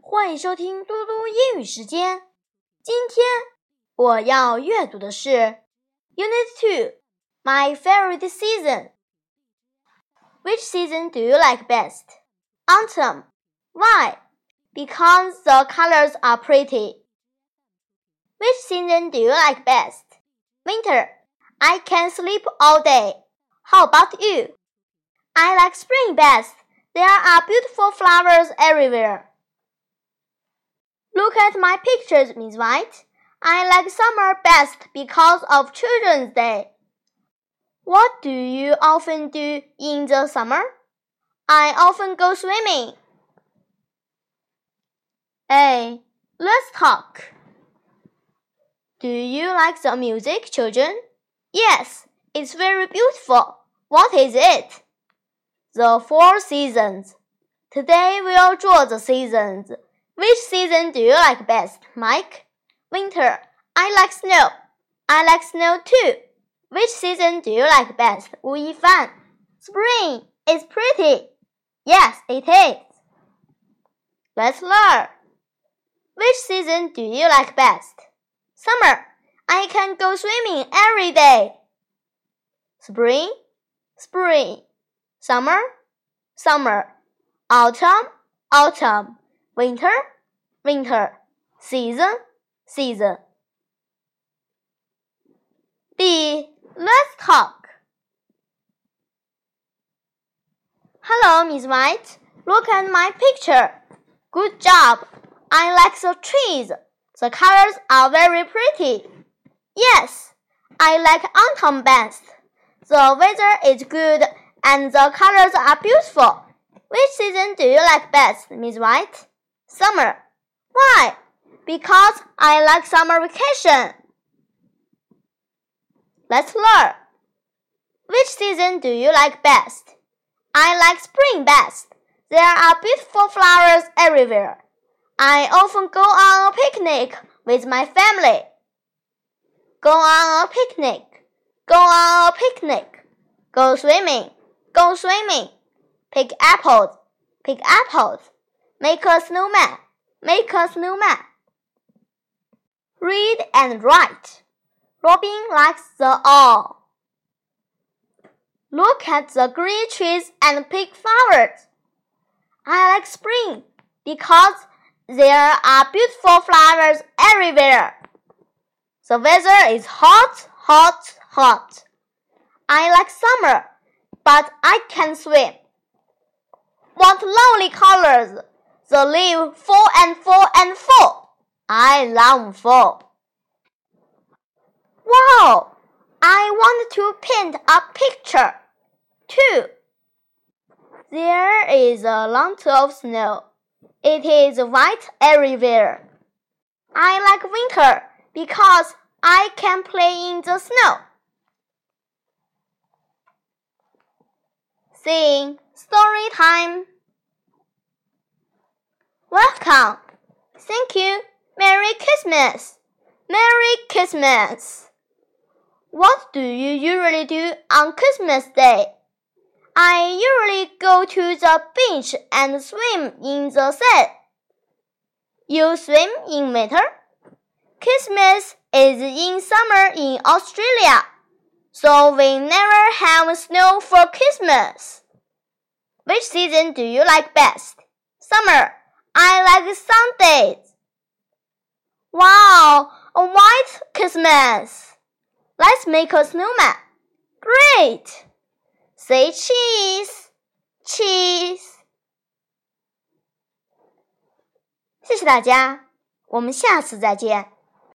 欢迎收听嘟嘟英语时间。今天我要阅读的是 Unit 2 My Favorite Season. Which season do you like best? Autumn. Why? Because the colors are pretty. Which season do you like best? Winter. I can sleep all day. How about you? I like spring best. There are beautiful flowers everywhere. Look at my pictures, Miss White. I like summer best because of Children's Day. What do you often do in the summer? I often go swimming. A. Let's talk. Do you like the music, children? Yes, it's very beautiful. What is it? The 4 seasons. Today we'll draw the seasons. Which season do you like best, Mike? Winter. I like snow. I like snow too. Which season do you like best, Wu Yifan? Spring. It's pretty. Yes, it is. Let's learn. Which season do you like best? Summer. I can go swimming every day. Spring. Spring. Summer. Summer. Autumn. Autumn. Winter. Winter. Season. Season. B. Let's talk. Hello, Miss White. Look at my picture. Good job. I like the trees. The colors are very pretty. Yes, I like autumn best. The weather is good and the colors are beautiful. Which season do you like best, Miss White? Summer. Why? Because I like summer vacation. Let's learn. Which season do you like best? I like spring best. There are beautiful flowers everywhere. I often go on a picnic with my family. Go on a picnic. Go on a picnic. Go swimming. Go swimming. Pick apples. Pick apples. Make a snowman. Make a snowman. Read and write. Robin likes the owl. Look at the green trees and pick flowers. I like spring because there are beautiful flowers everywhere. The weather is hot, hot, hot. I like summer, but I can't swim. What lovely colors! The leaves fall and fall and fall. I love fall. Wow! I want to paint a picture, too. There is a lot of snow. It is white everywhere. I like winter because I can play in the snow. Sing story time. Welcome. Thank you. Merry Christmas. Merry Christmas. What do you usually do on Christmas Day? I usually go to the beach and swim in the sea. You swim in winter? Christmas is in summer in Australia, so we never have snow for Christmas. Which season do you like best? Summer. I like Sundays. Wow, a white Christmas. Let's make a snowman. Great. Say cheese, cheese. 谢谢大家，我们下次再见。